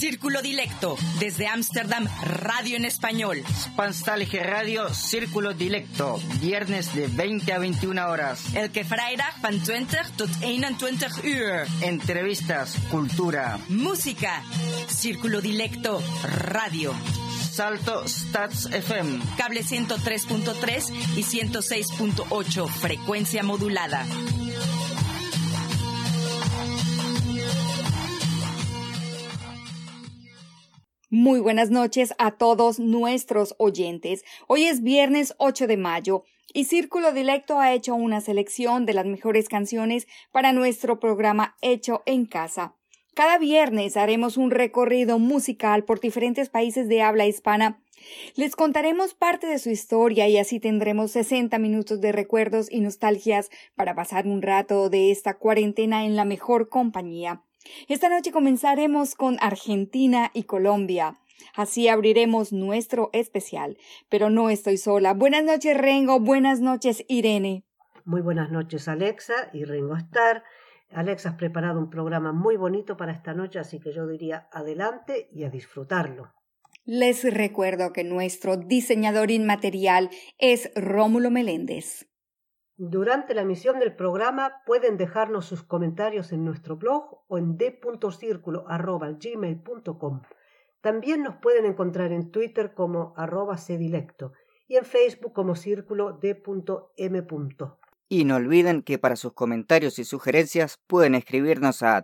Círculo Dilecto, desde Ámsterdam, radio en español. Spanstallige Radio, Círculo Dilecto, viernes de 20 a 21 horas. Elke vrijdag van 20 tot 21 uur. Entrevistas, cultura, música. Círculo Dilecto, radio. Salto Stats FM. Cable 103.3 y 106.8, frecuencia modulada. Muy buenas noches a todos nuestros oyentes. Hoy es viernes 8 de mayo y Círculo Dilecto ha hecho una selección de las mejores canciones para nuestro programa Hecho en Casa. Cada viernes haremos un recorrido musical por diferentes países de habla hispana. Les contaremos parte de su historia y así tendremos 60 minutos de recuerdos y nostalgias para pasar un rato de esta cuarentena en la mejor compañía. Esta noche comenzaremos con Argentina y Colombia. Así abriremos nuestro especial. Pero no estoy sola. Buenas noches, Rengo. Buenas noches, Irene. Muy buenas noches, Alexa y Rengo Star. Alexa, has preparado un programa muy bonito para esta noche, así que yo diría adelante y a disfrutarlo. Les recuerdo que nuestro diseñador inmaterial es Rómulo Meléndez. Durante la emisión del programa pueden dejarnos sus comentarios en nuestro blog o en d.circulo@gmail.com. También nos pueden encontrar en Twitter como @cdilecto y en Facebook como círculo d.m. Y no olviden que para sus comentarios y sugerencias pueden escribirnos a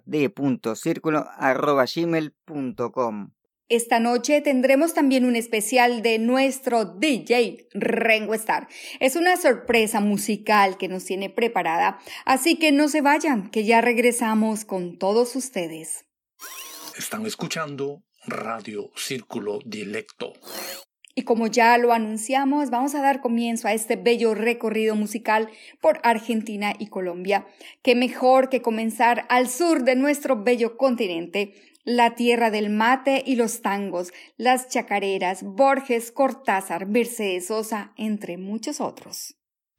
d.circulo@gmail.com. Esta noche tendremos también un especial de nuestro DJ Rengo Star. Es una sorpresa musical que nos tiene preparada, así que no se vayan, que ya regresamos con todos ustedes. Están escuchando Radio Círculo Dilecto. Y como ya lo anunciamos, vamos a dar comienzo a este bello recorrido musical por Argentina y Colombia. Qué mejor que comenzar al sur de nuestro bello continente, la tierra del mate y los tangos, las chacareras, Borges, Cortázar, Mercedes Sosa, entre muchos otros.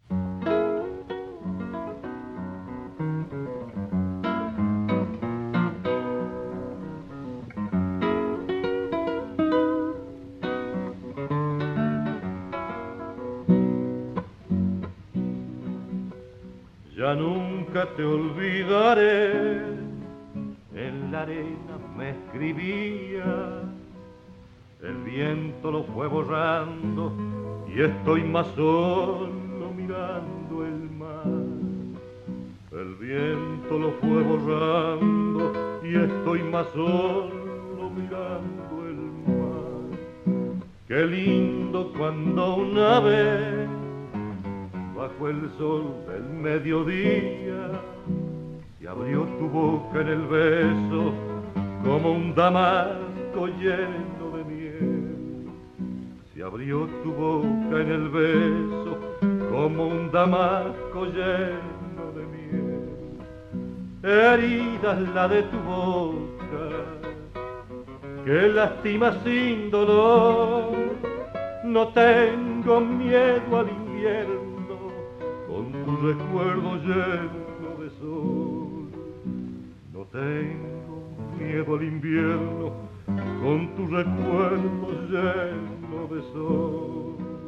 Ya nunca te olvidaré, en la arena me escribía, el viento lo fue borrando y estoy más solo mirando el mar. El viento lo fue borrando y estoy más solo mirando el mar. Qué lindo cuando una vez bajo el sol del mediodía se abrió tu boca en el beso como un damasco lleno de miel. Se abrió tu boca en el beso como un damasco lleno de miel. Herida es la de tu boca que lastima sin dolor. No tengo miedo al invierno con tu recuerdo lleno de sol. No tengo miedo al invierno con tu recuerdo lleno de sol.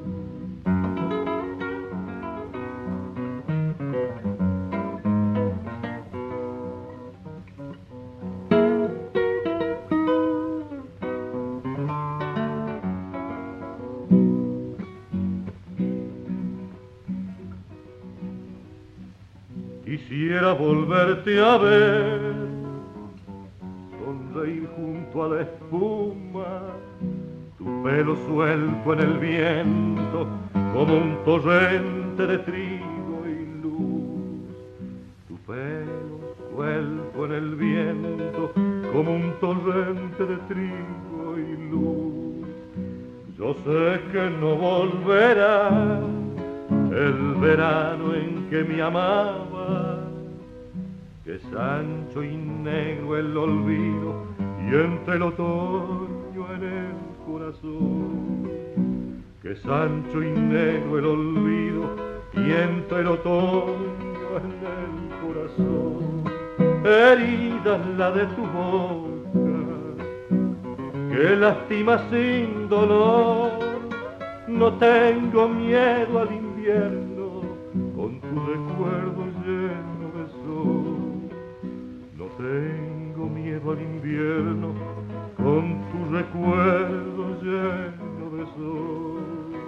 Quisiera volverte a ver, sonreír junto a la espuma, tu pelo suelto en el viento como un torrente de trigo y luz. Tu pelo suelto en el viento como un torrente de trigo y luz. Yo sé que no volverá el verano en que me amaba, que es ancho y negro el olvido y entre el otoño en el corazón. Que es ancho y negro el olvido y entre el otoño en el corazón. Herida es la de tu boca que lastima sin dolor. No tengo miedo al invierno, con tu recuerdo lleno de sol. No tengo miedo al invierno, con tu recuerdo lleno de sol.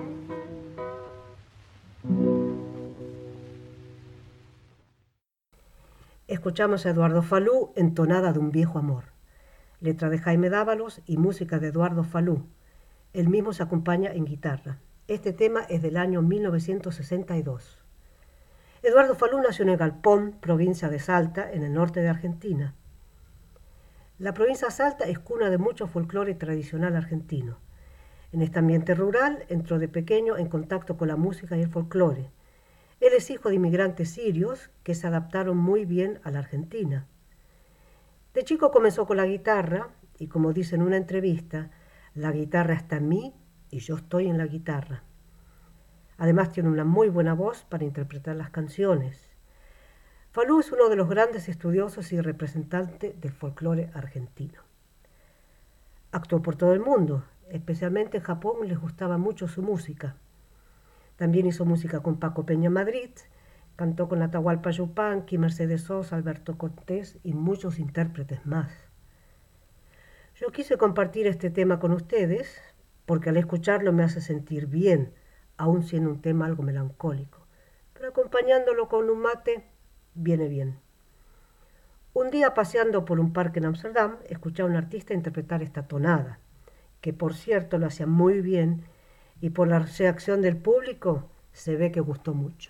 Escuchamos a Eduardo Falú en Tonada de un viejo amor. Letra de Jaime Dávalos y música de Eduardo Falú. Él mismo se acompaña en guitarra. Este tema es del año 1962. Eduardo Falú nació en Galpón, provincia de Salta, en el norte de Argentina. La provincia de Salta es cuna de mucho folclore tradicional argentino. En este ambiente rural entró de pequeño en contacto con la música y el folclore. Él es hijo de inmigrantes sirios que se adaptaron muy bien a la Argentina. De chico comenzó con la guitarra y, como dice en una entrevista, la guitarra está en mí y yo estoy en la guitarra. Además tiene una muy buena voz para interpretar las canciones. Falú es uno de los grandes estudiosos y representantes del folclore argentino. Actuó por todo el mundo, especialmente en Japón les gustaba mucho su música. También hizo música con Paco Peña Madrid, cantó con Atahualpa Yupanqui, Mercedes Sosa, Alberto Cortés y muchos intérpretes más. Yo quise compartir este tema con ustedes porque al escucharlo me hace sentir bien, aun siendo un tema algo melancólico. Pero acompañándolo con un mate, viene bien. Un día paseando por un parque en Ámsterdam, escuché a un artista interpretar esta tonada, que por cierto lo hacía muy bien y por la reacción del público se ve que gustó mucho.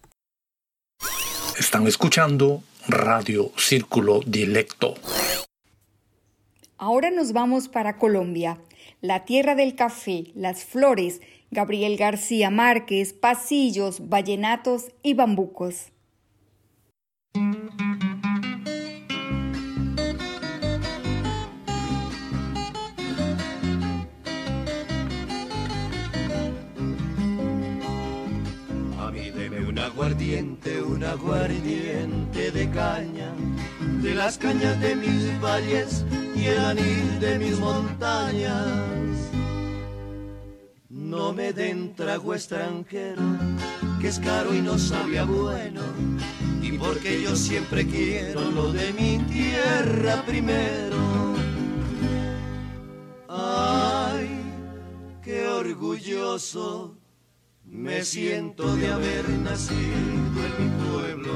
Están escuchando Radio Círculo Dilecto. Ahora nos vamos para Colombia, la tierra del café, las flores, Gabriel García Márquez, pasillos, vallenatos y bambucos. Un aguardiente de caña, de las cañas de mis valles y el anil de mis montañas. No me den trago extranjero, que es caro y no sabía bueno, y porque yo siempre quiero lo de mi tierra primero. Ay, qué orgulloso me siento de haber nacido en mi pueblo.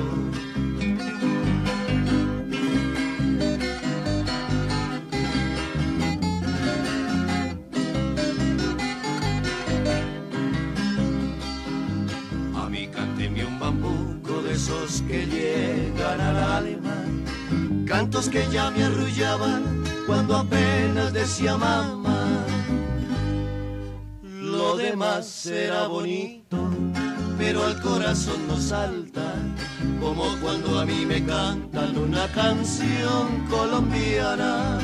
A mí cánteme un bambuco de esos que llegan al alma, cantos que ya me arrullaban cuando apenas decía mamá. Lo demás será bonito, pero al corazón no salta, como cuando a mí me cantan una canción colombiana.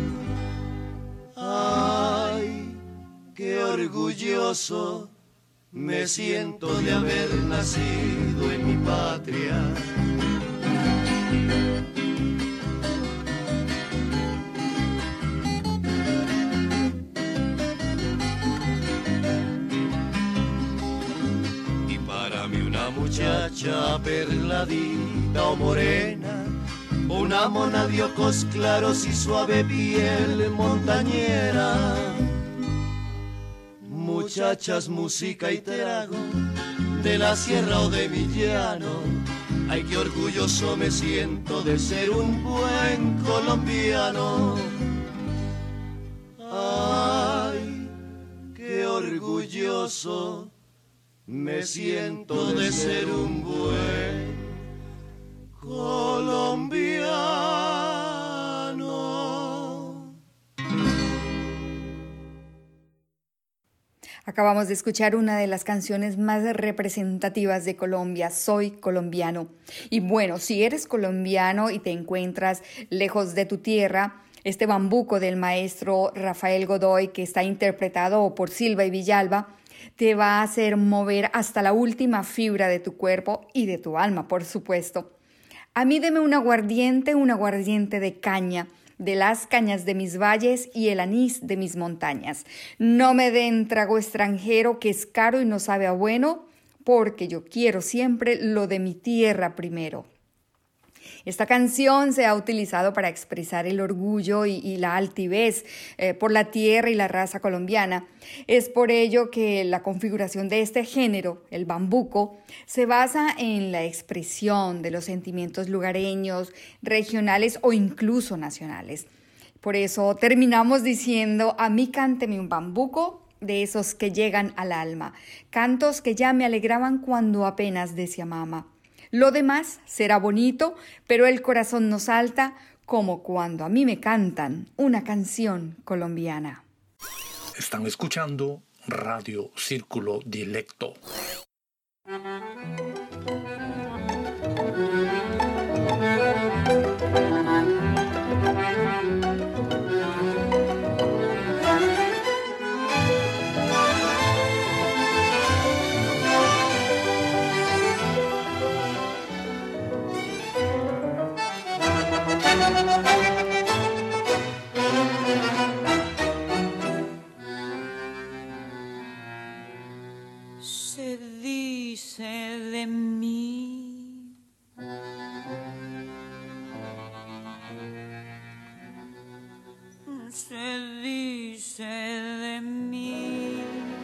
Ay, qué orgulloso me siento de haber nacido en mi patria. Muchacha perladita o morena, una mona de ojos claros y suave piel montañera. Muchachas, música y trago, de la sierra o de mi llano. Ay, qué orgulloso me siento de ser un buen colombiano. Ay, qué orgulloso me siento de ser un buen colombiano. Acabamos de escuchar una de las canciones más representativas de Colombia, Soy Colombiano. Y bueno, si eres colombiano y te encuentras lejos de tu tierra, este bambuco del maestro Rafael Godoy, que está interpretado por Silva y Villalba, te va a hacer mover hasta la última fibra de tu cuerpo y de tu alma, por supuesto. A mí deme un aguardiente de caña, de las cañas de mis valles y el anís de mis montañas. No me den trago extranjero que es caro y no sabe a bueno, porque yo quiero siempre lo de mi tierra primero. Esta canción se ha utilizado para expresar el orgullo y la altivez por la tierra y la raza colombiana. Es por ello que la configuración de este género, el bambuco, se basa en la expresión de los sentimientos lugareños, regionales o incluso nacionales. Por eso terminamos diciendo: a mí cánteme un bambuco, de esos que llegan al alma, cantos que ya me alegraban cuando apenas decía mama. Lo demás será bonito, pero el corazón no salta como cuando a mí me cantan una canción colombiana. Están escuchando Radio Círculo Dilecto. Se dice de mí, se dice de mí,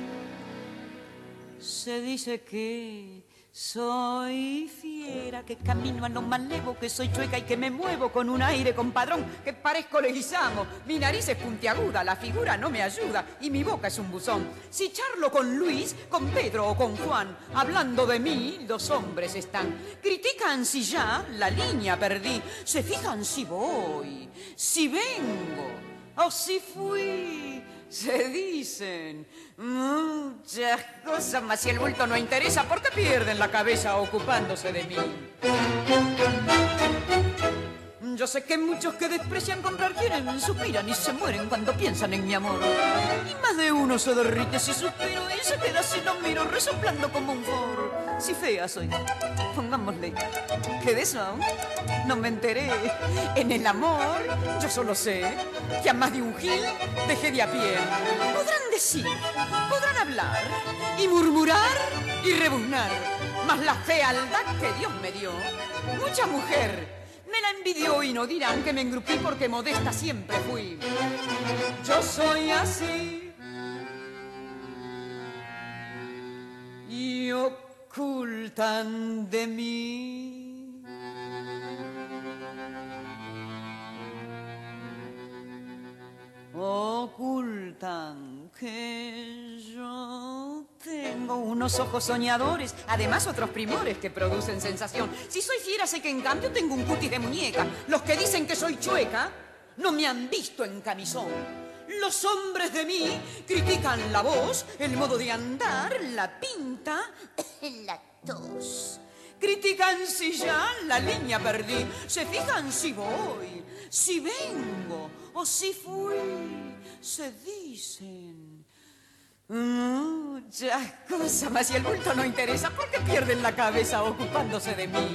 se dice que soy fiera, que camino a lo malevo, que soy chueca y que me muevo con un aire compadrón, que parezco Leguizamo, mi nariz es puntiaguda, la figura no me ayuda y mi boca es un buzón. Si charlo con Luis, con Pedro o con Juan, hablando de mí, los hombres están. Critican si ya la línea perdí, se fijan si voy, si vengo o si fui. Se dicen muchas cosas, mas si el bulto no interesa, ¿por qué pierden la cabeza ocupándose de mí? Yo sé que muchos que desprecian comprar quieren, suspiran y se mueren cuando piensan en mi amor. Y más de uno se derrite si suspiro y se queda si lo miro resoplando como un forro. Si fea soy, pongámosle, que de eso no me enteré. En el amor yo solo sé que a más de un gil dejé de a pie. Podrán decir, podrán hablar y murmurar y rebuznar, mas la fealdad que Dios me dio, mucha mujer me la envidió y no dirán que me engrupí porque modesta siempre fui. Yo soy así y ocultan de mí. Ocultan que yo tengo unos ojos soñadores, además otros primores que producen sensación. Si soy fiera sé que en cambio tengo un cutis de muñeca. Los que dicen que soy chueca no me han visto en camisón. Los hombres de mí critican la voz, el modo de andar, la pinta, la tos. Critican si ya la línea perdí, se fijan si voy, si vengo o si fui. Se dicen muchas cosas, mas si el bulto no interesa, ¿por qué pierden la cabeza ocupándose de mí?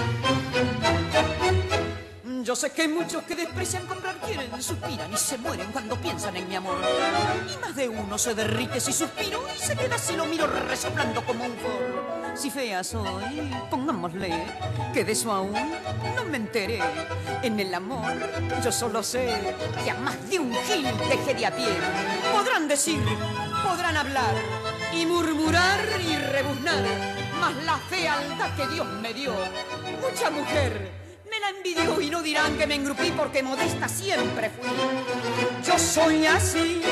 Yo sé que muchos que desprecian comprar quieren, suspiran y se mueren cuando piensan en mi amor. Y más de uno se derrite si suspiro y se queda si lo miro resoplando como un forro. Si fea soy, pongámosle, que de eso aún no me enteré. En el amor yo solo sé que a más de un gil dejé de a pie. Podrán decir, podrán hablar y murmurar y rebuznar, mas la fealdad que Dios me dio, mucha mujer me la envidió y no dirán que me engrupí porque modesta siempre fui. Yo soy así.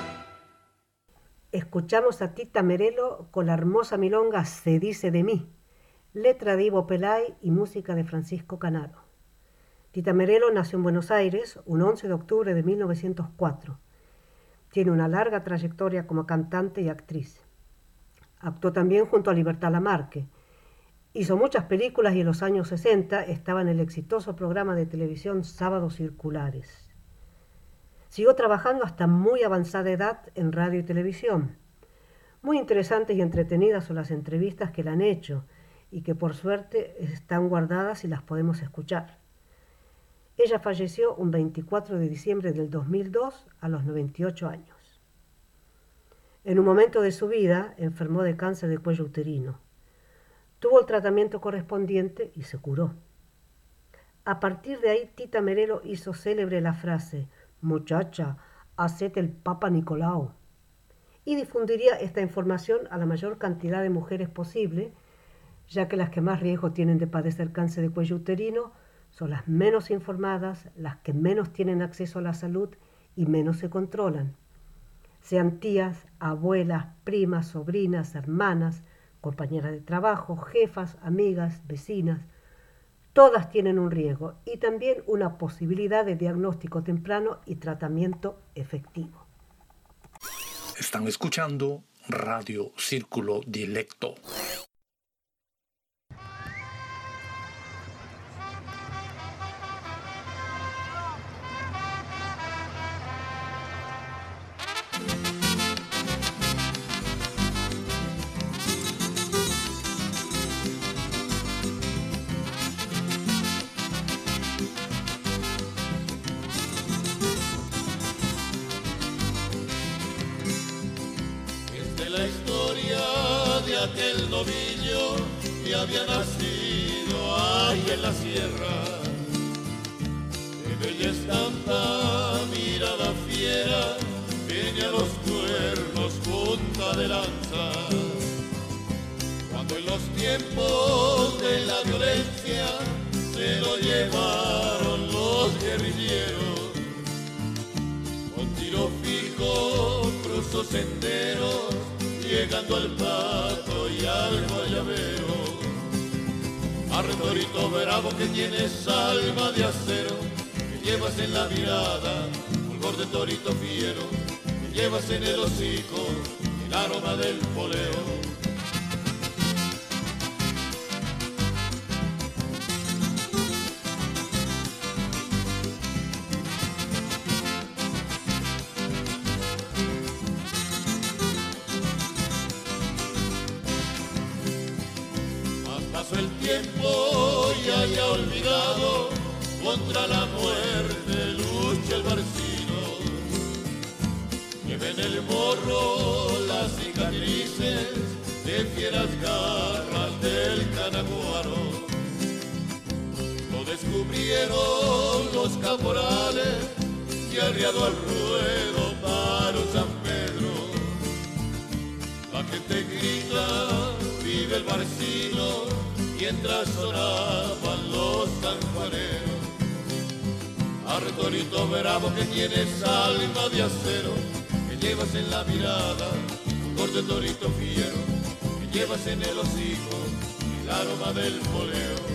Escuchamos a Tita Merelo con la hermosa milonga Se dice de mí, letra de Ivo Pelay y música de Francisco Canaro. Tita Merelo nació en Buenos Aires un 11 de octubre de 1904. Tiene una larga trayectoria como cantante y actriz. Actuó también junto a Libertad Lamarque. Hizo muchas películas y en los años 60 estaba en el exitoso programa de televisión Sábados Circulares. Siguió trabajando hasta muy avanzada edad en radio y televisión. Muy interesantes y entretenidas son las entrevistas que le han hecho y que por suerte están guardadas y las podemos escuchar. Ella falleció un 24 de diciembre del 2002 a los 98 años. En un momento de su vida enfermó de cáncer de cuello uterino. Tuvo el tratamiento correspondiente y se curó. A partir de ahí, Tita Merelo hizo célebre la frase: «Muchacha, hacete el Papa Nicolau», y difundiría esta información a la mayor cantidad de mujeres posible, ya que las que más riesgo tienen de padecer cáncer de cuello uterino son las menos informadas, las que menos tienen acceso a la salud y menos se controlan. Sean tías, abuelas, primas, sobrinas, hermanas, compañeras de trabajo, jefas, amigas, vecinas, todas tienen un riesgo y también una posibilidad de diagnóstico temprano y tratamiento efectivo. Están escuchando Radio Círculo Dilecto. La historia de aquel novillo que había nacido ahí en la sierra, de bella estampa, mirada fiera, tenía los cuernos punta de lanza. Cuando en los tiempos de la violencia se lo llevaron los guerrilleros, con tiro fijo cruzó senderos, llegando al Pato y al Guayabero. Arre torito bravo que tienes alma de acero, que llevas en la mirada fulgor de torito fiero, que llevas en el hocico el aroma del poleo. El tiempo ya haya olvidado, contra la muerte lucha el barcino. Lleva en el morro las cicatrices de fieras garras del canaguaro. Lo descubrieron los caporales y arriado al ruedo paró San Pedro. La gente grita, vive el barcino, mientras sonaban los sanjuaneros. Arre torito bravo que tienes alma de acero, que llevas en la mirada fulgor de torito fiero, que llevas en el hocico el aroma del poleo.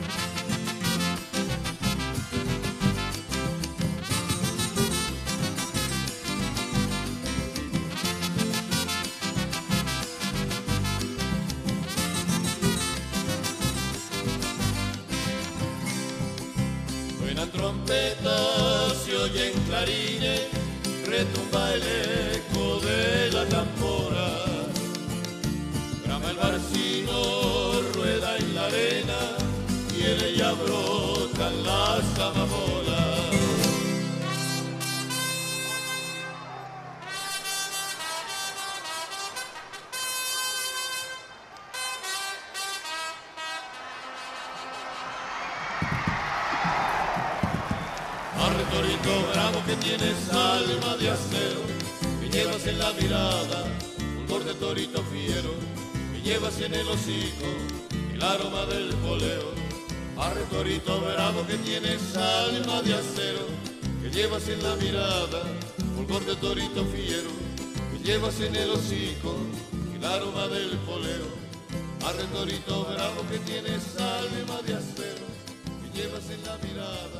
Trompetas se oyen clarines, retumba el eco de la tambora. Brama el barcino, rueda en la arena y en ella brotan las amapolas. Torito bravo que tienes alma de acero, que llevas en la mirada fulgor de torito fiero, que llevas en el hocico el aroma del poleo. Arre torito bravo que tienes alma de acero, que llevas en la mirada fulgor de torito fiero, que llevas en el hocico el aroma del poleo. Arre torito bravo que tienes alma de acero, que llevas en la mirada.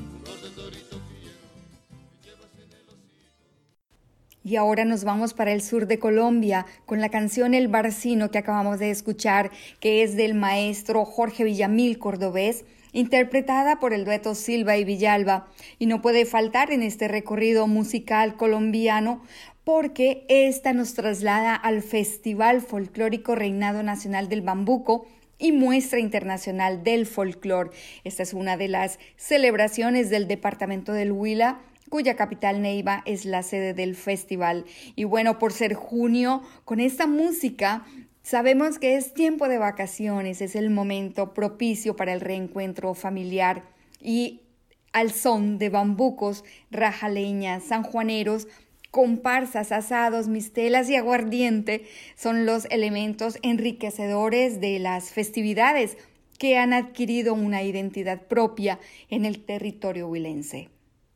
Y ahora nos vamos para el sur de Colombia con la canción El Barcino que acabamos de escuchar, que es del maestro Jorge Villamil Cordobés, interpretada por el dueto Silva y Villalba. Y no puede faltar en este recorrido musical colombiano porque esta nos traslada al Festival Folclórico Reinado Nacional del Bambuco, y Muestra Internacional del Folclor. Esta es una de las celebraciones del departamento del Huila, cuya capital Neiva es la sede del festival. Y bueno, por ser junio, con esta música sabemos que es tiempo de vacaciones, es el momento propicio para el reencuentro familiar y al son de bambucos, rajaleñas, sanjuaneros, comparsas, asados, mistelas y aguardiente son los elementos enriquecedores de las festividades que han adquirido una identidad propia en el territorio huilense.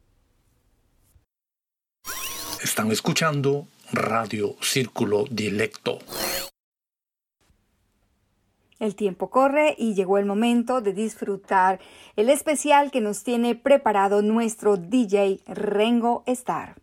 Están escuchando Radio Círculo Dilecto. El tiempo corre y llegó el momento de disfrutar el especial que nos tiene preparado nuestro DJ Rengo Star.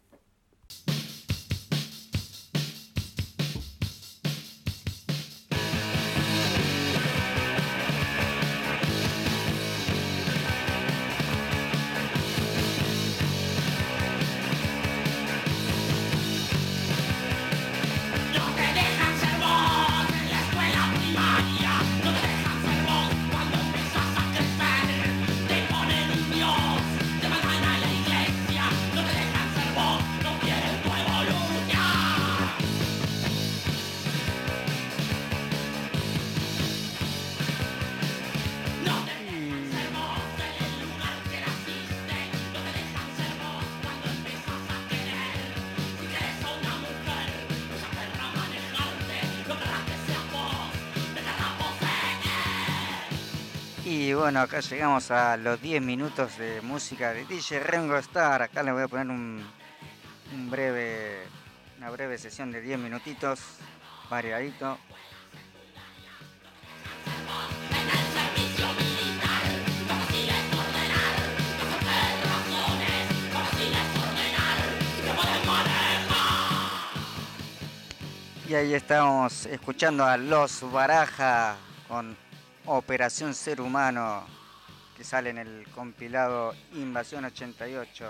Y bueno, acá llegamos a los 10 minutos de música de DJ Rengo Star. Acá les voy a poner una breve sesión de 10 minutitos, variadito. Y ahí estamos escuchando a Los Baraja con Operación Ser Humano, que sale en el compilado Invasión 88.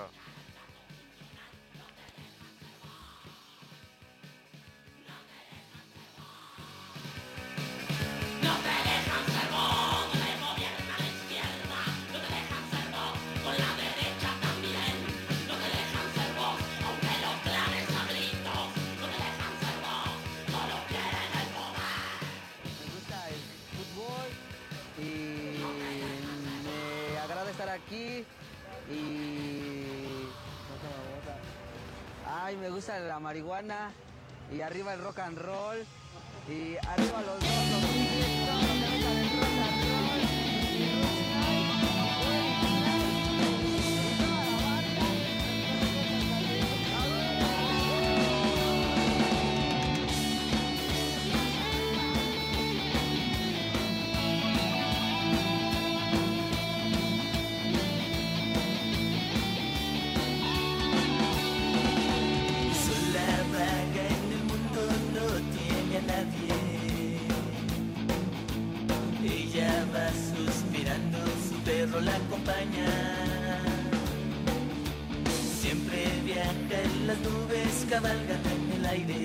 Aquí y me gusta la marihuana y arriba el rock and roll y arriba los dos la acompaña. Siempre viaja en las nubes, cabalga en el aire.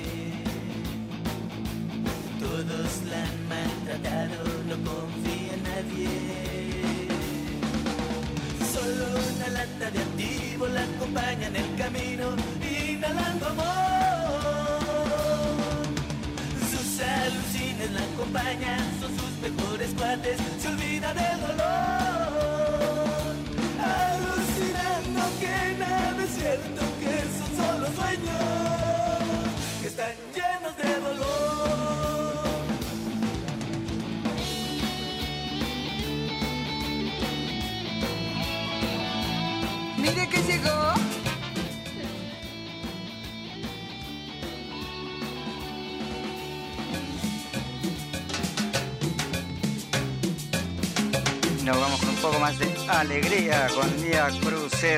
Todos la han maltratado, no confía en nadie. Solo una lata de activo la acompaña en el camino, inhalando amor. Sus alucines la acompañan, son sus mejores cuates, se olvida del dolor. Alucinando que nada es cierto, que son solo sueños, que están llenos de dolor. Mire que llegó. Nos vamos con un poco más de alegría con Vía Crucet.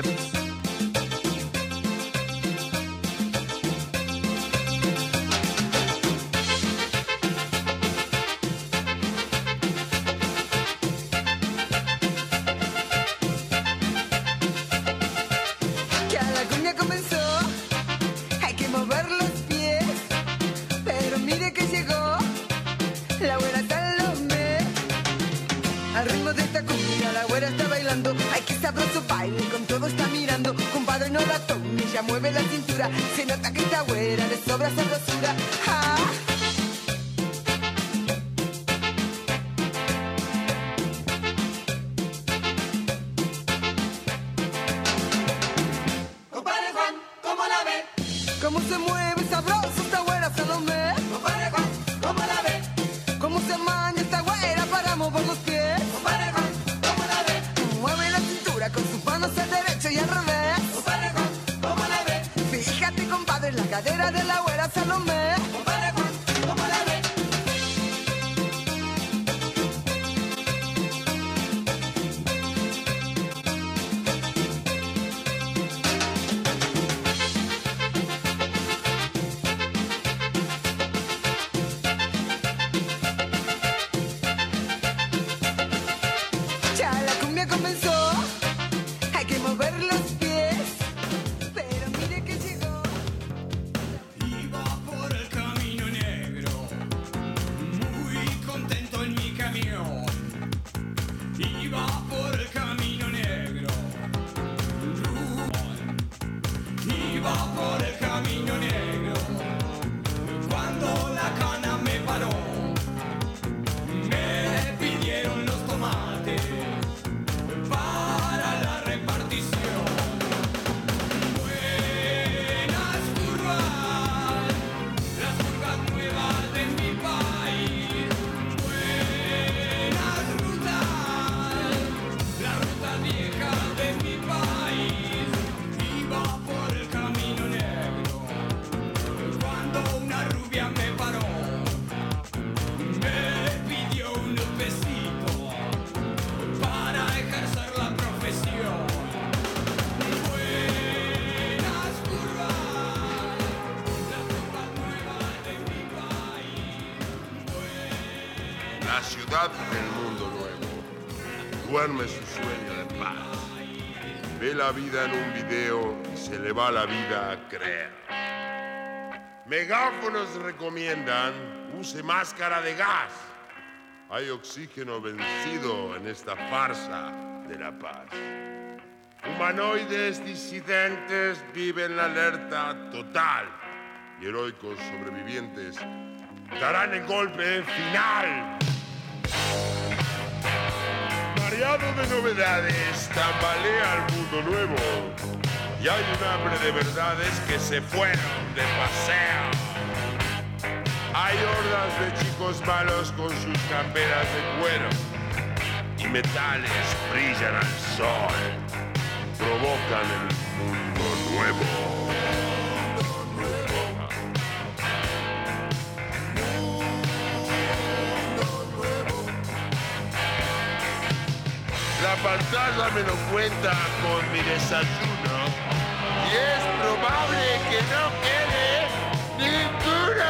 Ya la cumbia comenzó, hay que mover los pies, pero mire que llegó la buena Salomé. mirando, compadre no la tome, ella mueve la cintura, se nota que esta güera le sobra sabrosura. Ah. Compadre Juan, ¿cómo la ve? Cómo se mueve sabroso esta güera Salomé. Compadre Juan, ¿cómo la ve? Cómo se manda esta güera para mover los pies. Compadre Juan, ¿cómo la ve? Mueve la cintura con sus manos al derecho y al revés. Compadre Juan, ¿cómo la ve? Fíjate, compadre, en la cadera de la güera Salomé. Compadre Juan, ¿cómo la ve? Ya la cumbia comenzó, hay que mover los pies, pero mire que llegó. Iba por el camino negro, muy contento en mi camión. Iba por el camino negro, iba por el camino negro, cuando la cana me paró, me pidieron los tomates para la repartición. Buenas curvas, las curvas nuevas de mi país. Buenas rutas, las rutas viejas de mi país. Iba por el camino negro, cuando una rubia me paró, me pidió unos besitos para ejercer la profesión. Buenas curvas, las curvas nuevas de mi país. La ciudad del mundo nuevo duerme su sueño de paz. Ve la vida en un video y se le va la vida a creer. Megáfonos recomiendan use máscara de gas. Hay oxígeno vencido en esta farsa de la paz. Humanoides disidentes viven la alerta total y heroicos sobrevivientes darán el golpe final. Mareado de novedades, tambalea el mundo nuevo y hay un hambre de verdades que se fueron de paseo. Hay hordas de chicos malos con sus camperas de cuero y metales brillan al sol, provocan el mundo nuevo. La pantalla me lo cuenta con mi desayuno y es probable que no quede ninguna.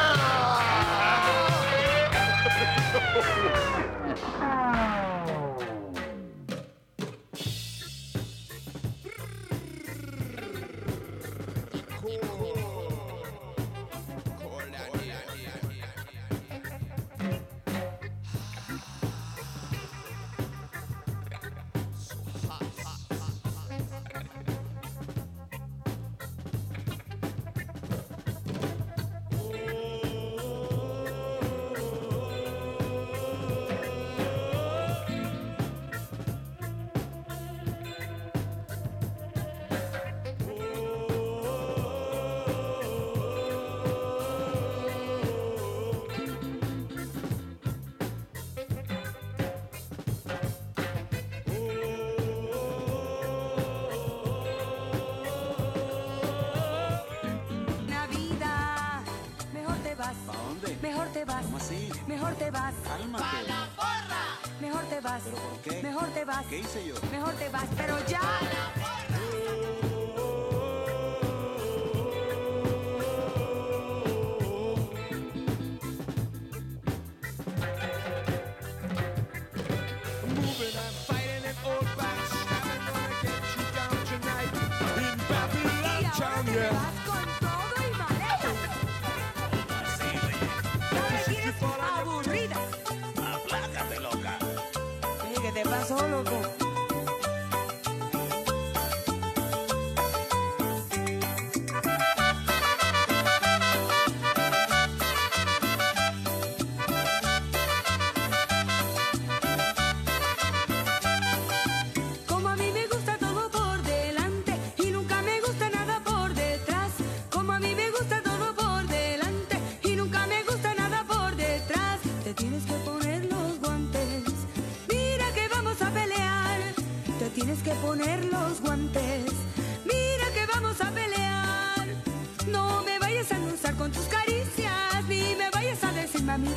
Mejor te vas. ¿Cómo así? Mejor te vas. Cálmate. ¡Pa la porra! Mejor te vas. ¿Pero por qué? Mejor te vas. ¿Qué hice yo? Mejor te vas, pero ya. ¡Pa la porra! Moving and fighting in old backs, I'm gonna get you down tonight in Babylon Town, yeah. Aplácate, loca. ¿Qué te pasó, loco?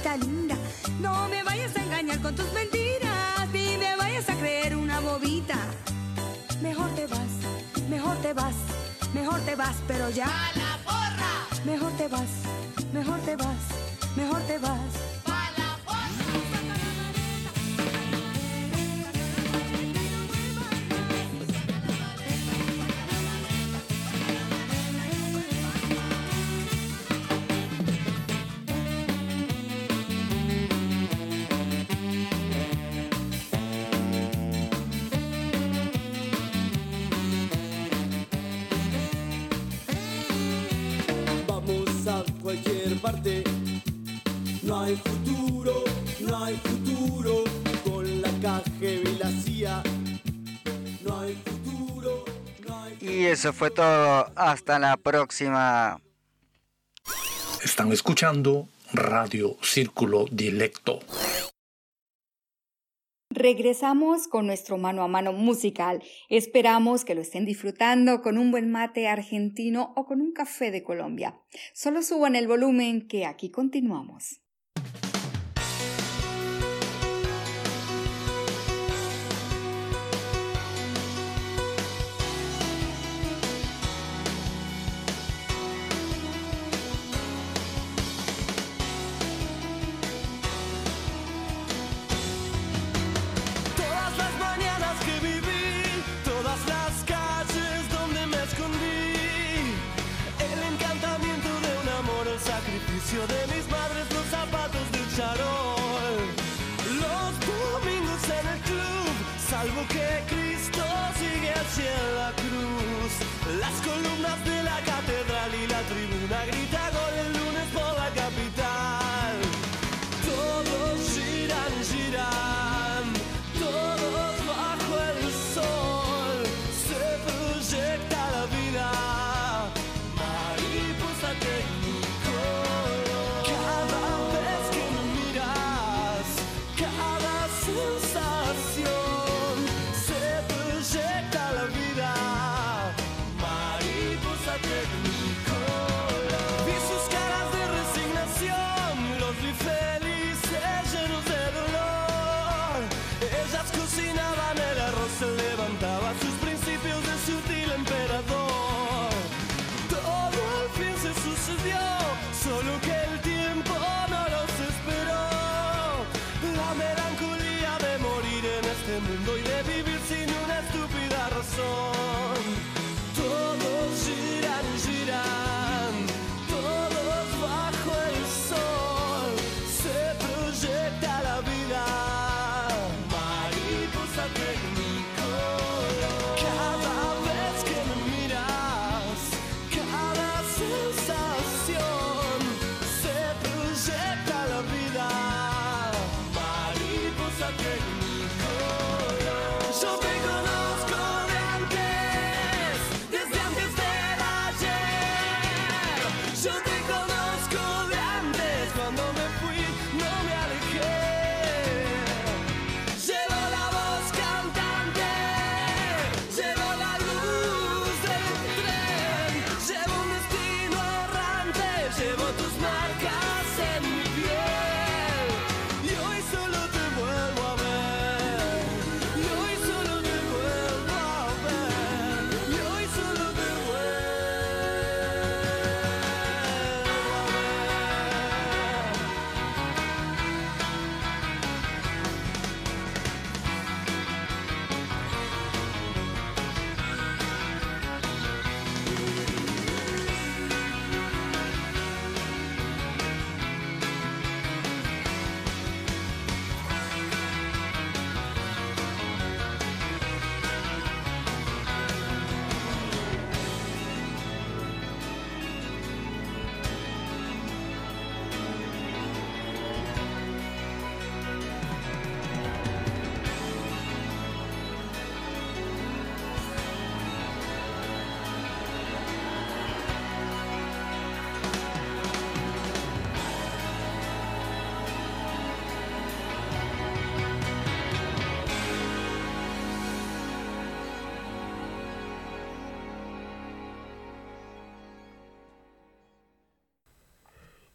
cosita linda. No me vayas a engañar con tus mentiras, ni me vayas a creer una bobita. Mejor te vas, mejor te vas, mejor te vas, pero ya. ¡A la porra! Mejor te vas, mejor te vas, mejor te vas. Parte. No hay futuro, no hay futuro con la KGB y la CIA. No hay futuro, no hay futuro. Y eso fue todo. Hasta la próxima. Están escuchando Radio Círculo Dilecto. Regresamos con nuestro mano a mano musical. Esperamos que lo estén disfrutando con un buen mate argentino o con un café de Colombia. Solo suban el volumen que aquí continuamos. De mis madres los zapatos del charol, los domingos en el club, salvo que Cristo sigue hacia la cruz, las columnas de la catedral y la tribuna grita gol el lunes por la capital. Todos giran, giran, todos bajo el sol, se proyecta la vida, mariposa técnica. Se levantaba sus principios de sutil emperador. Todo al fin se sucedió, solo que el tiempo no los esperó. La melancolía de morir en este mundo y de vivir sin una estúpida razón. Todos giran, giran, todos bajo el sol, se proyecta la vida, mariposa técnica. Yo te conozco de antes, desde antes del ayer. Yo te conozco de antes, cuando me fui no me alejé. Llevo la voz cantante, llevo la luz del tren, llevo un destino errante, llevo tus marcas en mi piel. Y hoy solo te vuelvo a ver.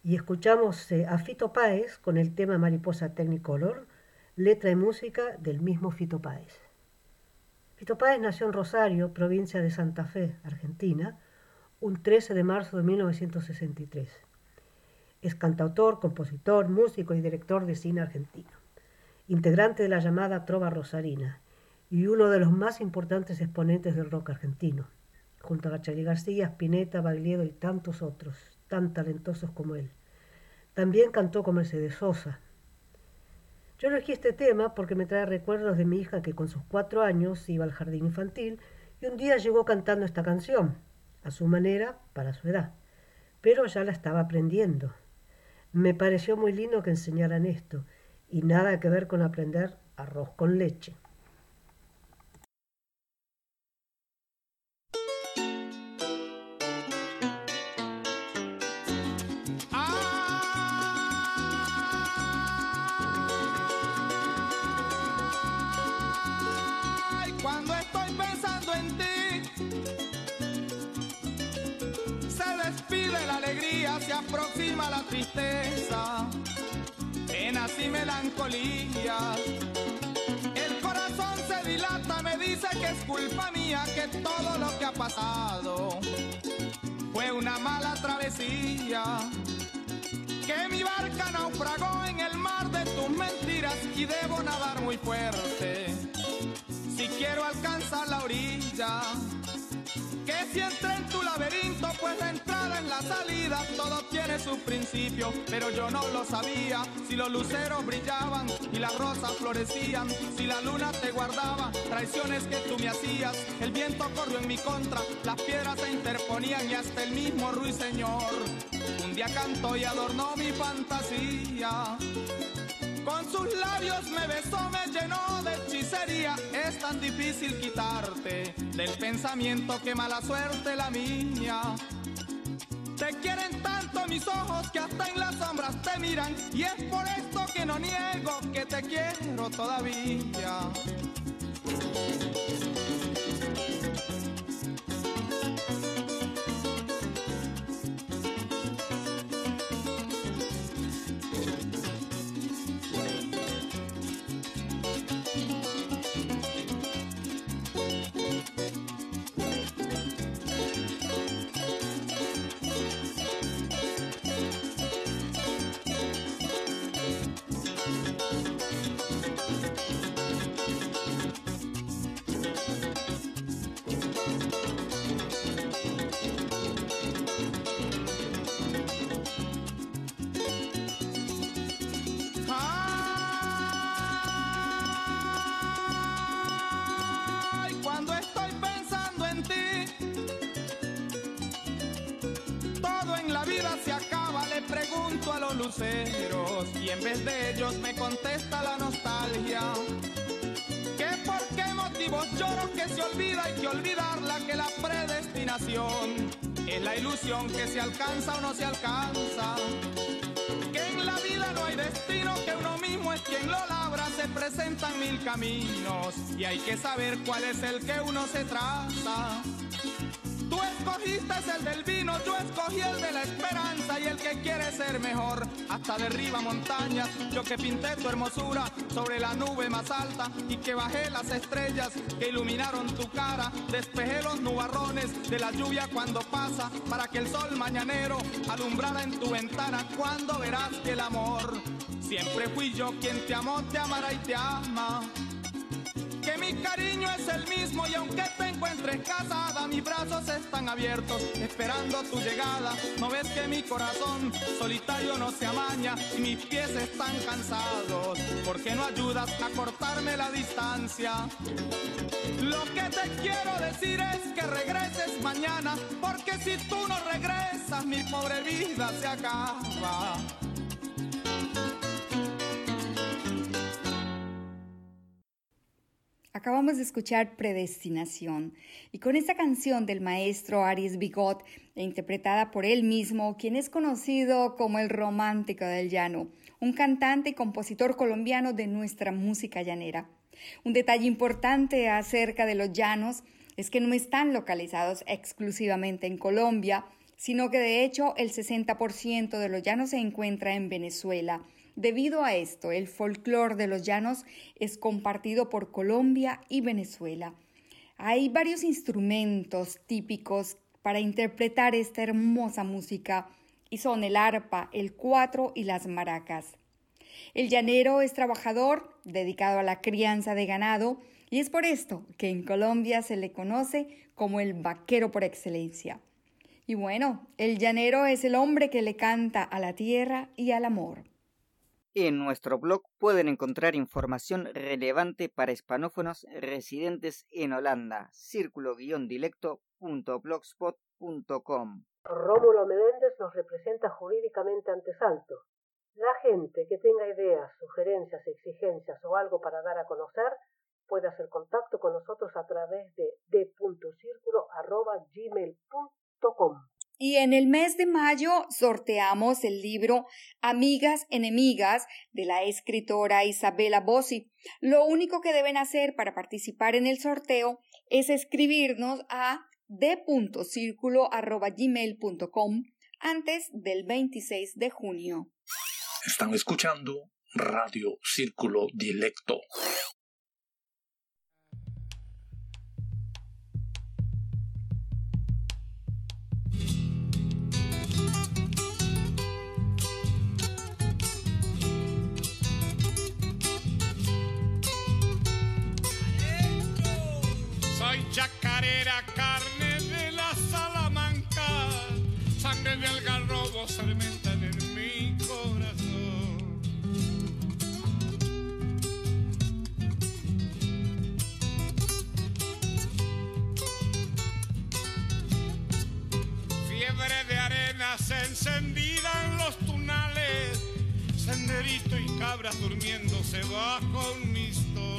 Y escuchamos a Fito Páez con el tema Mariposa Technicolor, letra y música del mismo Fito Páez. Fito Páez nació en Rosario, provincia de Santa Fe, Argentina, un 13 de marzo de 1963. Es cantautor, compositor, músico y director de cine argentino, integrante de la llamada Trova Rosarina y uno de los más importantes exponentes del rock argentino, junto a Charly García, Spinetta, Baglietto y tantos otros, tan talentosos como él. También cantó con Mercedes Sosa. Yo elegí este tema porque me trae recuerdos de mi hija que con sus 4 años iba al jardín infantil y un día llegó cantando esta canción, a su manera, para su edad, pero ya la estaba aprendiendo. Me pareció muy lindo que enseñaran esto y nada que ver con aprender arroz con leche. Cuando estoy pensando en ti, se despide la alegría, se aproxima la tristeza, penas y melancolía. El corazón se dilata, me dice que es culpa mía, que todo lo que ha pasado fue una mala travesía, que mi barca naufragó en el mar de tus mentiras y debo nadar muy fuerte si quiero alcanzar la orilla, que si entré en tu laberinto, pues la entrada en la salida, todo tiene su principio, pero yo no lo sabía. Si los luceros brillaban y las rosas florecían, si la luna te guardaba, traiciones que tú me hacías, el viento corrió en mi contra, las piedras se interponían y hasta el mismo ruiseñor un día cantó y adornó mi fantasía. Con sus labios me besó, me llenó de hechicería. Es tan difícil quitarte del pensamiento, que mala suerte la mía. Te quieren tanto mis ojos que hasta en las sombras te miran, y es por esto que no niego que te quiero todavía. A los luceros y en vez de ellos me contesta la nostalgia, que por qué motivos lloro, que se olvida y que olvidarla, que la predestinación es la ilusión que se alcanza o no se alcanza, que en la vida no hay destino, que uno mismo es quien lo labra, se presentan 1000 caminos y hay que saber cuál es el que uno se traza. Tú escogiste el del vino, yo escogí el de la esperanza, y el que quiere ser mejor hasta derriba montañas. Yo que pinté tu hermosura sobre la nube más alta, y que bajé las estrellas que iluminaron tu cara, despejé los nubarrones de la lluvia cuando pasa, para que el sol mañanero alumbrara en tu ventana. Cuando verás que el amor siempre fui yo quien te amó, te amará y te ama, que mi cariño es el mismo, y aunque te encuentres casada, mis brazos están abiertos esperando tu llegada. No ves que mi corazón solitario no se amaña y mis pies están cansados, porque no ayudas a cortarme la distancia. Lo que te quiero decir es que regreses mañana, porque si tú no regresas mi pobre vida se acaba. Acabamos de escuchar Predestinación, y con esta canción del maestro Aries Bigot, interpretada por él mismo, quien es conocido como el romántico del llano, un cantante y compositor colombiano de nuestra música llanera. Un detalle importante acerca de los llanos es que no están localizados exclusivamente en Colombia, sino que de hecho el 60% de los llanos se encuentra en Venezuela. Debido a esto, el folclore de los llanos es compartido por Colombia y Venezuela. Hay varios instrumentos típicos para interpretar esta hermosa música y son el arpa, el cuatro y las maracas. El llanero es trabajador, dedicado a la crianza de ganado, y es por esto que en Colombia se le conoce como el vaquero por excelencia. Y bueno, el llanero es el hombre que le canta a la tierra y al amor. En nuestro blog pueden encontrar información relevante para hispanófonos residentes en Holanda, círculo-dilecto.blogspot.com. Rómulo Meléndez nos representa jurídicamente ante Salto. La gente que tenga ideas, sugerencias, exigencias o algo para dar a conocer puede hacer contacto con nosotros a través de d.circulo@gmail.com. Y en el mes de mayo sorteamos el libro Amigas Enemigas de la escritora Isabella Bossi. Lo único que deben hacer para participar en el sorteo es escribirnos a d.circulo@gmail.com antes del 26 de junio. Están escuchando Radio Círculo Dilecto. Soy chacarera, carne de la Salamanca, sangre de algarrobo fermentan en mi corazón. Fiebre de arenas encendida en los tunales, senderito y cabras durmiéndose bajo un mistol.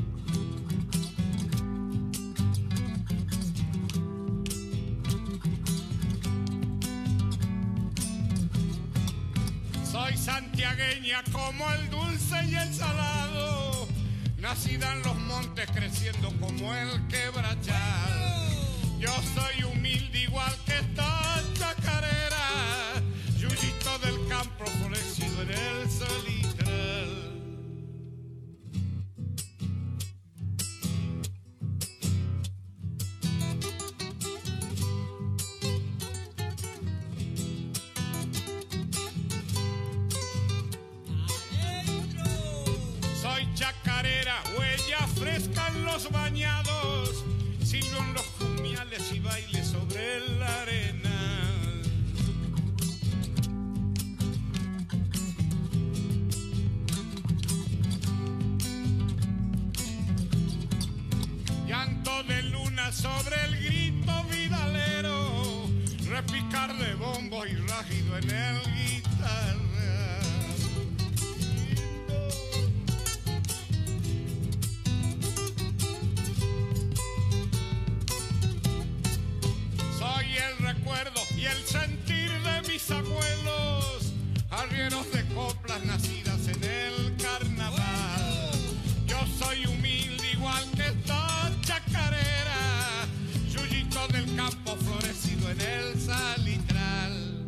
Soy santiagueña como el dulce y el salado, nacida en los montes creciendo como el quebrachal. Yo soy humilde igual que esta chacarera, yuyito del campo florecido en el salitral. Chacarera, huella fresca en los bañados, silbo en los jumiales y baile sobre la arena. Llanto de luna sobre el grito vidalero, repicar de bombo y rágido en el guitarra. Y el sentir de mis abuelos, arrieros de coplas nacidas en el carnaval. Yo soy humilde igual que esta chacarera, yuyito del campo florecido en el salitral.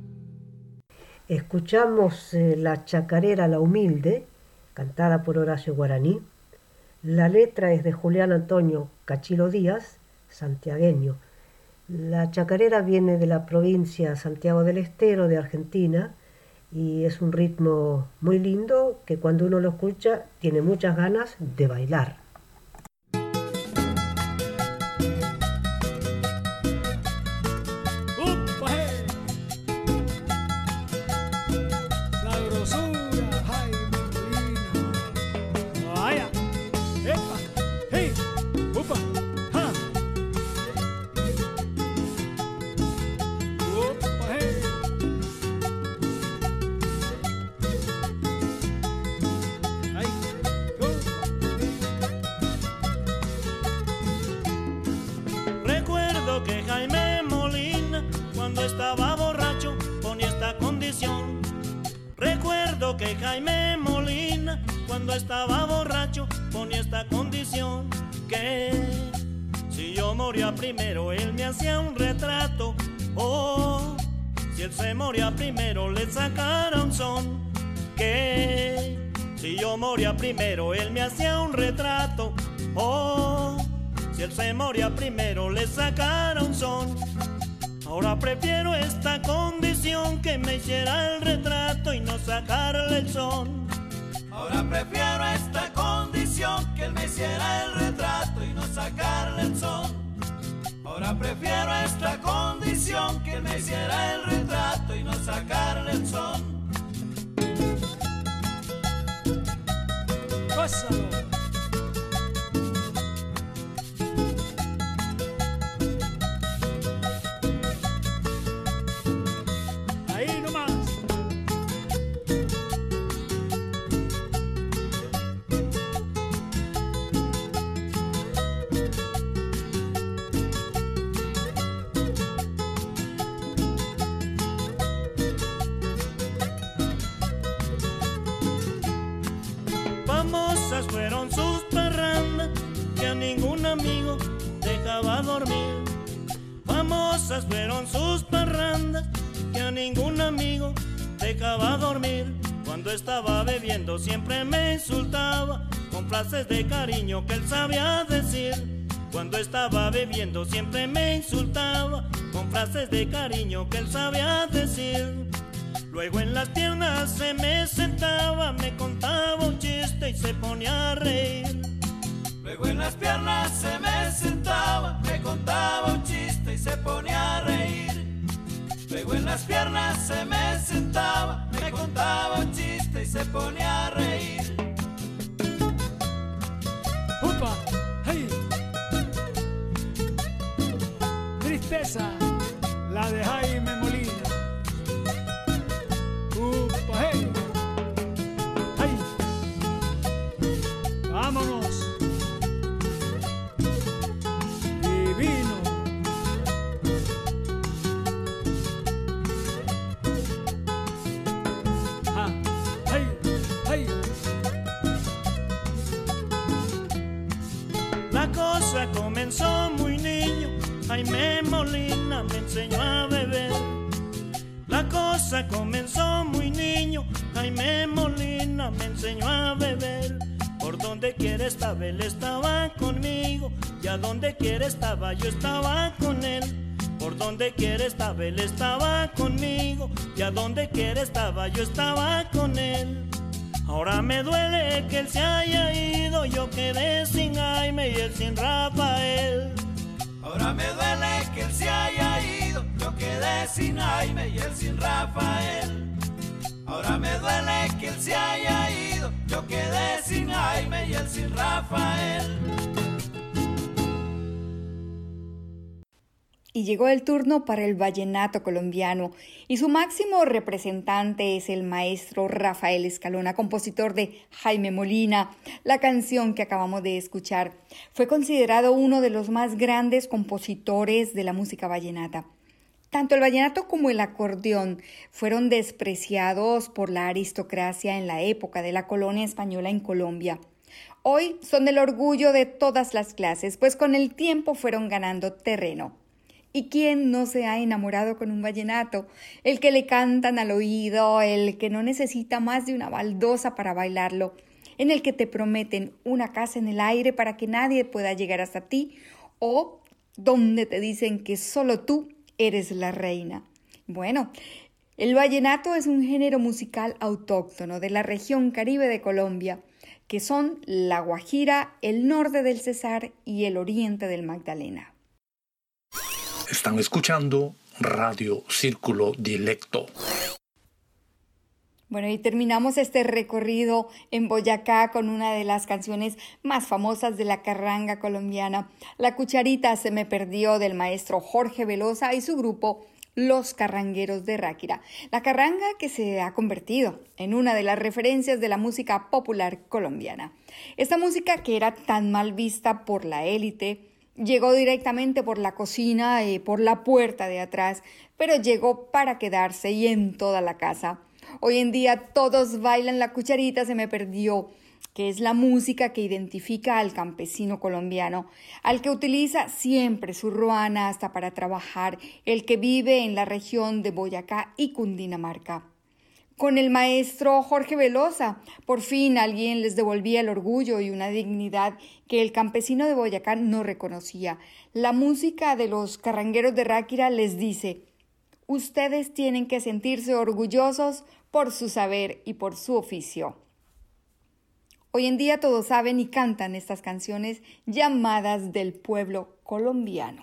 Escuchamos la chacarera La Humilde, cantada por Horacio Guaraní. La letra es de Julián Antonio Cachilo Díaz, santiagueño. La chacarera viene de la provincia Santiago del Estero de Argentina y es un ritmo muy lindo que cuando uno lo escucha tiene muchas ganas de bailar. Que Jaime Molina, cuando estaba borracho, ponía esta condición: que si yo moría primero, él me hacía un retrato Oh, si él se moría primero le sacara un son. Que si yo moría primero él me hacía un retrato. Oh, si él se moría primero le sacara un son. Ahora prefiero esta condición, que me hiciera el retrato y no sacarle el son. Ahora prefiero esta condición, que él me hiciera el retrato y no sacarle el son. Ahora prefiero esta condición, que él me hiciera el retrato y no sacarle el son. Gózalo. Ahí nomás. Famosas fueron sus parrandas, que a ningún amigo dejaba dormir. Famosas fueron sus parrandas, que a ningún amigo dejaba dormir. Cuando estaba bebiendo siempre me insultaba, con frases de cariño que él sabía decir. Cuando estaba bebiendo siempre me insultaba, con frases de cariño que él sabía decir. Luego en las piernas se me sentaba, me contaba un chiste y se ponía a reír. Luego en las piernas se me sentaba, me contaba un chiste y se ponía a reír. Luego en las piernas se me sentaba, me contaba un chiste y se ponía a reír. ¡Upa! ¡Hey! Tristeza, la de Jaime Molina. ¡Upa! ¡Hey! ¡Hey! ¡Vámonos! Divino. ¡Ah! ¡Hey! ¡Hey! La cosa comenzó muy niño, Jaime Molina me enseñó a beber. La cosa comenzó muy niño, Jaime Molina me enseñó a beber. Por donde quiera estaba, él estaba conmigo, y a donde quiera estaba, yo estaba con él. Por donde quiera estaba, él estaba conmigo, y a donde quiera estaba, yo estaba con él. Ahora me duele que él se haya ido, yo quedé sin Jaime y él sin Rafael. Ahora me duele que él se haya ido, yo quedé sin Jaime y él sin Rafael. Ahora me duele que él se haya ido, yo quedé sin Jaime y él sin Rafael. Y llegó el turno para el vallenato colombiano, y su máximo representante es el maestro Rafael Escalona, compositor de Jaime Molina. La canción que acabamos de escuchar fue considerado uno de los más grandes compositores de la música vallenata. Tanto el vallenato como el acordeón fueron despreciados por la aristocracia en la época de la colonia española en Colombia. Hoy son el orgullo de todas las clases, pues con el tiempo fueron ganando terreno. ¿Y quién no se ha enamorado con un vallenato? El que le cantan al oído, el que no necesita más de una baldosa para bailarlo, en el que te prometen una casa en el aire para que nadie pueda llegar hasta ti, o donde te dicen que solo tú eres la reina. Bueno, el vallenato es un género musical autóctono de la región Caribe de Colombia, que son la Guajira, el norte del Cesar y el oriente del Magdalena. Están escuchando Radio Círculo Dilecto. Bueno, y terminamos este recorrido en Boyacá con una de las canciones más famosas de la carranga colombiana. La cucharita se me perdió, del maestro Jorge Velosa y su grupo Los Carrangueros de Ráquira. La carranga que se ha convertido en una de las referencias de la música popular colombiana. Esta música, que era tan mal vista por la élite, llegó directamente por la cocina y por la puerta de atrás, pero llegó para quedarse y en toda la casa. Hoy en día todos bailan la cucharita se me perdió, que es la música que identifica al campesino colombiano, al que utiliza siempre su ruana hasta para trabajar, el que vive en la región de Boyacá y Cundinamarca. Con el maestro Jorge Velosa, por fin alguien les devolvía el orgullo y una dignidad que el campesino de Boyacá no reconocía. La música de los carrangueros de Ráquira les dice: ustedes tienen que sentirse orgullosos por su saber y por su oficio. Hoy en día todos saben y cantan estas canciones llamadas del pueblo colombiano.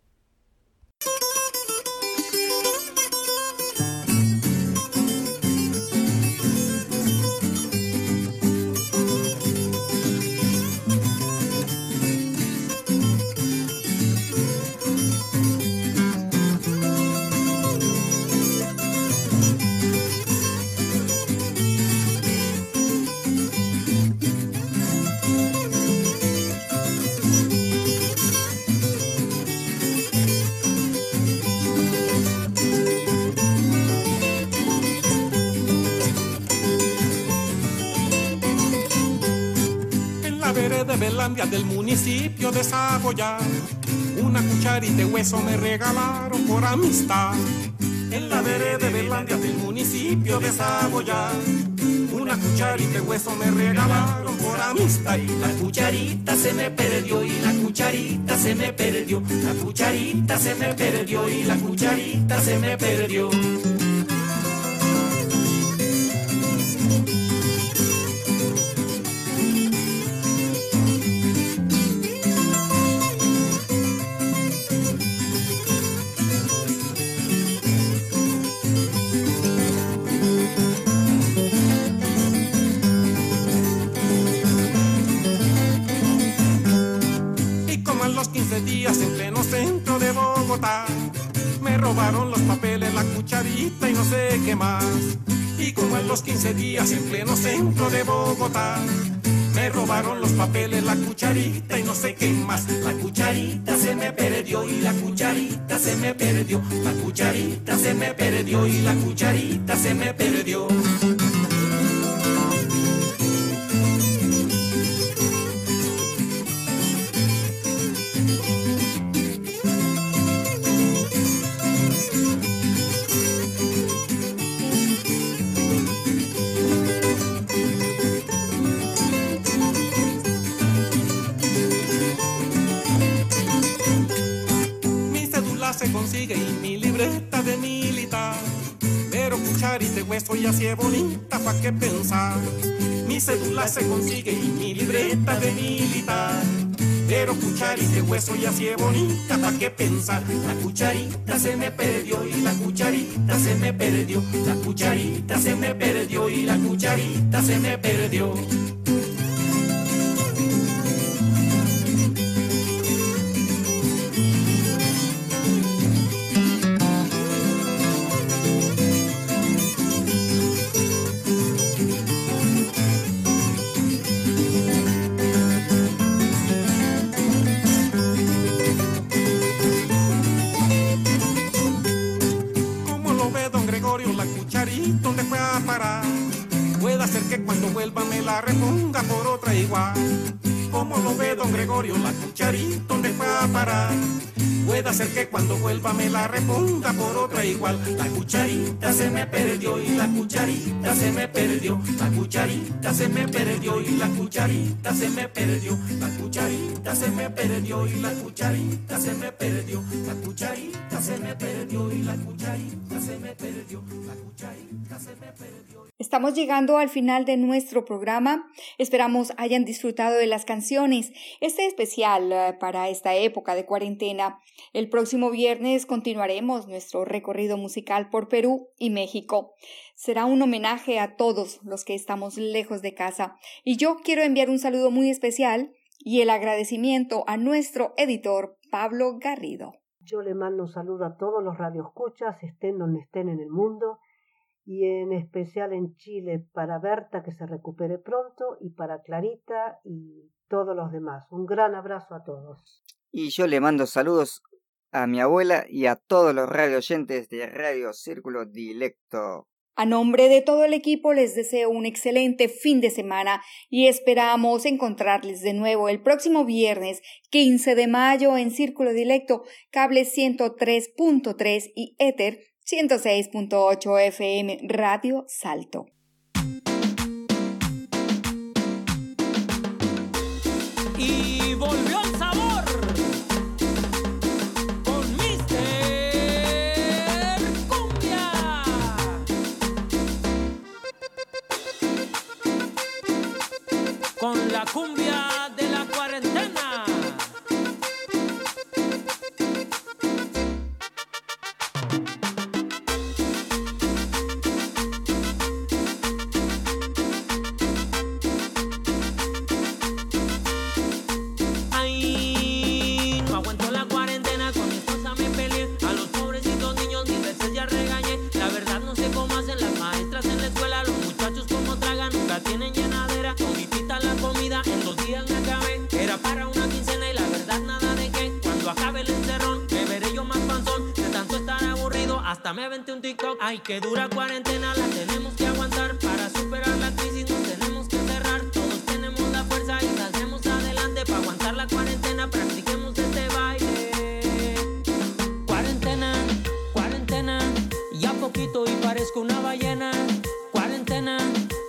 De Belandia del municipio de Saboya, una cucharita de hueso me regalaron por amistad. En la vereda de Belandia del municipio de Saboya, una cucharita de hueso me regalaron por amistad. Y la cucharita se me perdió y la cucharita se me perdió, la cucharita se me perdió y la cucharita se me perdió. Días en pleno centro de Bogotá, me robaron los papeles, la cucharita y no sé qué más. Y como en los 15 días en pleno centro de Bogotá, me robaron los papeles, la cucharita y no sé qué más. La cucharita se me perdió y la cucharita se me perdió, la cucharita se me perdió y la cucharita se me perdió. Se consigue y mi libreta de militar, pero cucharita de hueso y así es bonita, ¿pa' qué pensar? Mi cédula se consigue y mi libreta de militar, pero cucharita de hueso y así es bonita, ¿pa' qué pensar? La cucharita se me perdió y la cucharita se me perdió, la cucharita se me perdió y la cucharita se me perdió. ¿Dónde fue a parar? Puede ser que cuando vuelva me la reponga por otra igual. ¿Cómo lo ve don Gregorio? La cucharita, ¿dónde fue a parar? Puede ser que cuando vuelva me la reponga por otra igual. La cucharita se me perdió y la cucharita se me perdió, la cucharita se me perdió y la cucharita se me perdió, la cucharita se me perdió y la cucharita se me perdió, la cucharita se me perdió y la cucharita se me perdió, la cucharita se me perdió. Estamos llegando al final de nuestro programa. Esperamos hayan disfrutado de las canciones. Este especial para esta época de cuarentena. El próximo viernes continuaremos nuestro recorrido musical por Perú y México. Será un homenaje a todos los que estamos lejos de casa. Y yo quiero enviar un saludo muy especial y el agradecimiento a nuestro editor Pablo Garrido. Yo le mando un saludo a todos los radioescuchas, estén donde estén en el mundo, y en especial en Chile para Berta, que se recupere pronto, y para Clarita y todos los demás. Un gran abrazo a todos. Y yo le mando saludos a mi abuela y a todos los radio oyentes de Radio Círculo Dilecto. A nombre de todo el equipo les deseo un excelente fin de semana y esperamos encontrarles de nuevo el próximo viernes 15 de mayo en Círculo Dilecto, cable 103.3 y éter 106.8 FM Radio Salto. Y volvió el sabor con Mr. Cumbia. Con la cumbia de la cuarentena. Tienen llenadera, toditita la comida, en 2 días me acabé. Era para una quincena y la verdad nada de qué. Cuando acabe el encerrón, me veré yo más panzón. De tanto estar aburrido, hasta me aventé un TikTok. Ay, que dura cuarentena, la tenemos que aguantar. Para superar la crisis nos tenemos que encerrar. Todos tenemos la fuerza y saldremos adelante. Para aguantar la cuarentena, practiquemos este baile. Cuarentena, cuarentena, ya poquito y parezco una ballena. Cuarentena,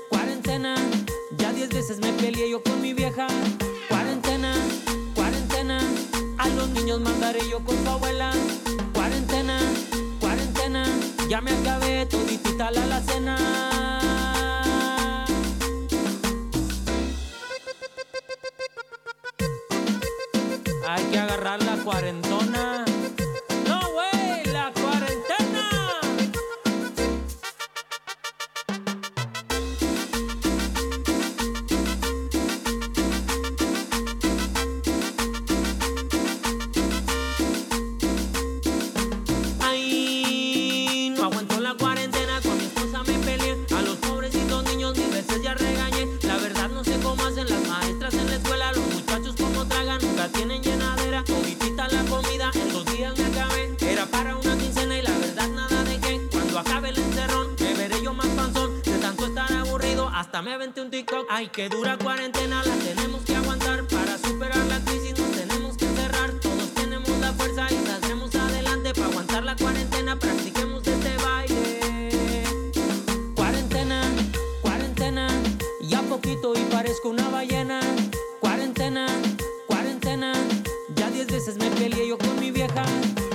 ya 10 veces me peleé yo con mi vieja. Cuarentena, cuarentena, a los niños mandaré yo con su abuela. Cuarentena, cuarentena, ya me acabé toditita la alacena. Hay que agarrar la cuarentona. No, güey, la cuarentena. Tienen llenadera, toditita la comida, en 2 días me acabé. Era para una quincena y la verdad nada de qué. Cuando acabe el encerrón, me veré yo más panzón. De tanto estar aburrido, hasta me aventé un TikTok. Ay, que dura cuarentena, la tenemos que aguantar. Para superar la crisis nos tenemos que encerrar. Todos tenemos la fuerza y saldremos adelante. Para aguantar la cuarentena, practiquemos este baile. Cuarentena, cuarentena, ya poquito y parezco una ballena. Cuarentena, cuarentena, ya 10 veces me peleé yo con mi vieja.